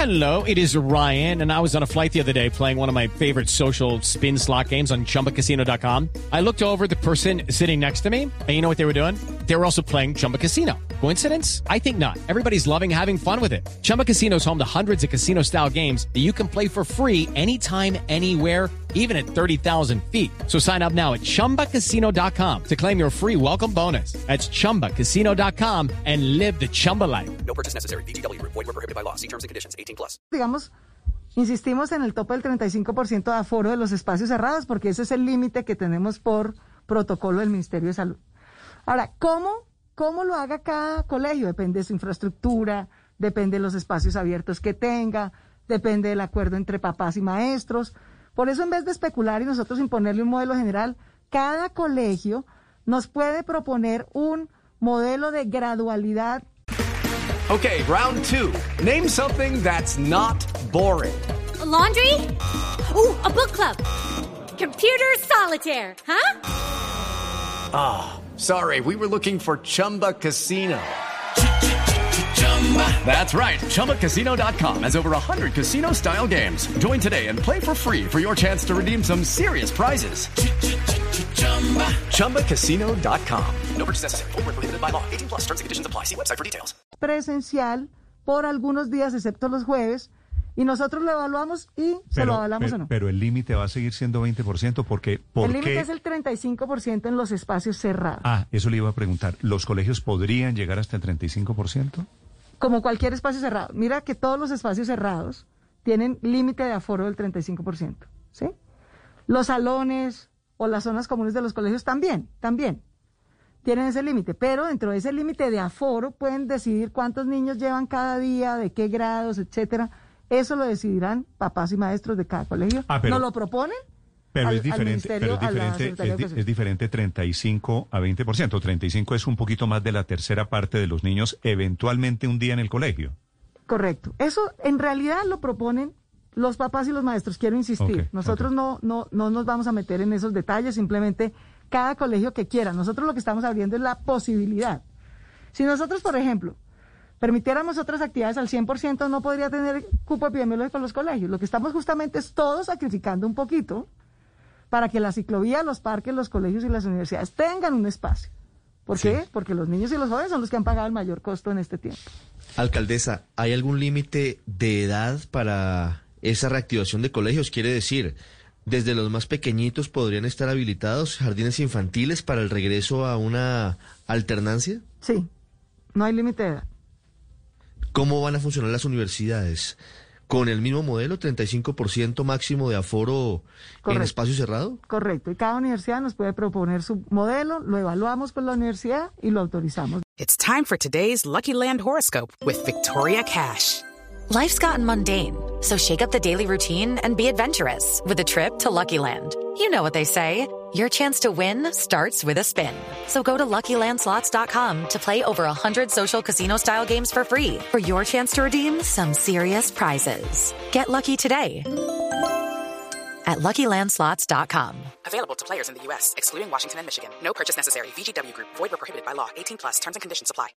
Hello, it is Ryan, and I was on a flight the other day playing one of my favorite social spin slot games on ChumbaCasino.com. I looked over at the person sitting next to me, and you know what they were doing? They were also playing Chumba Casino. Coincidence? I think not. Everybody's loving having fun with it. Chumba Casino is home to hundreds of casino-style games that you can play for free anytime, anywhere, even at 30,000 feet. So sign up now at ChumbaCasino.com to claim your free welcome bonus. That's ChumbaCasino.com and live the Chumba life. No purchase necessary. VGW. Void were prohibited by law. See terms and conditions. 18+. Digamos, insistimos en el tope del 35% de aforo de los espacios cerrados, porque ese es el límite que tenemos por protocolo del Ministerio de Salud. Ahora, ¿cómo lo haga cada colegio? Depende de su infraestructura, depende de los espacios abiertos que tenga, depende del acuerdo entre papás y maestros. Por eso, en vez de especular y nosotros imponerle un modelo general, cada colegio nos puede proponer un modelo de gradualidad. Okay, round two. Name something that's not boring. A laundry? Ooh, a book club. Computer solitaire, huh? Sorry, we were looking for Chumba Casino. That's right. ChumbaCasino.com has over 100 casino-style games. Join today and play for free for your chance to redeem some serious prizes. ChumbaCasino.com. No purchase necessary. Void were prohibited by law. 18+. Terms and conditions apply. See website for details. Presencial por algunos días, excepto los jueves, y nosotros lo evaluamos y se lo avalamos o no. Pero el límite va a seguir siendo 20% porque... El límite es el 35% en los espacios cerrados. Eso le iba a preguntar. ¿Los colegios podrían llegar hasta el 35%? Como cualquier espacio cerrado. Mira que todos los espacios cerrados tienen límite de aforo del 35%, ¿sí? Los salones o las zonas comunes de los colegios también tienen ese límite, pero dentro de ese límite de aforo pueden decidir cuántos niños llevan cada día, de qué grados, etcétera. Eso lo decidirán papás y maestros de cada colegio. ¿Nos lo proponen? Pero es diferente 35 a 20%. 35 es un poquito más de la tercera parte de los niños eventualmente un día en el colegio. Correcto. Eso en realidad lo proponen los papás y los maestros, quiero insistir. Nosotros no nos vamos a meter en esos detalles, simplemente cada colegio que quiera. Nosotros lo que estamos abriendo es la posibilidad. Si nosotros, por ejemplo, permitiéramos otras actividades al 100%, no podría tener cupo epidemiológico en los colegios. Lo que estamos justamente es todos sacrificando un poquito para que la ciclovía, los parques, los colegios y las universidades tengan un espacio. ¿Por qué? Porque los niños y los jóvenes son los que han pagado el mayor costo en este tiempo. Alcaldesa, ¿hay algún límite de edad para esa reactivación de colegios? Quiere decir, ¿desde los más pequeñitos podrían estar habilitados jardines infantiles para el regreso a una alternancia? Sí, no hay límite de edad. ¿Cómo van a funcionar las universidades? ¿Con el mismo modelo, 35% máximo de aforo en espacio cerrado? Correcto, y cada universidad nos puede proponer su modelo, lo evaluamos con la universidad y lo autorizamos. It's time for today's Lucky Land horoscope with Victoria Cash. Life's gotten mundane, so shake up the daily routine and be adventurous with a trip to Lucky Land. You know what they say, your chance to win starts with a spin. So go to LuckyLandSlots.com to play over 100 social casino-style games for free for your chance to redeem some serious prizes. Get lucky today at LuckyLandSlots.com. Available to players in the U.S., excluding Washington and Michigan. No purchase necessary. VGW Group. Void where prohibited by law. 18+. Terms and conditions apply.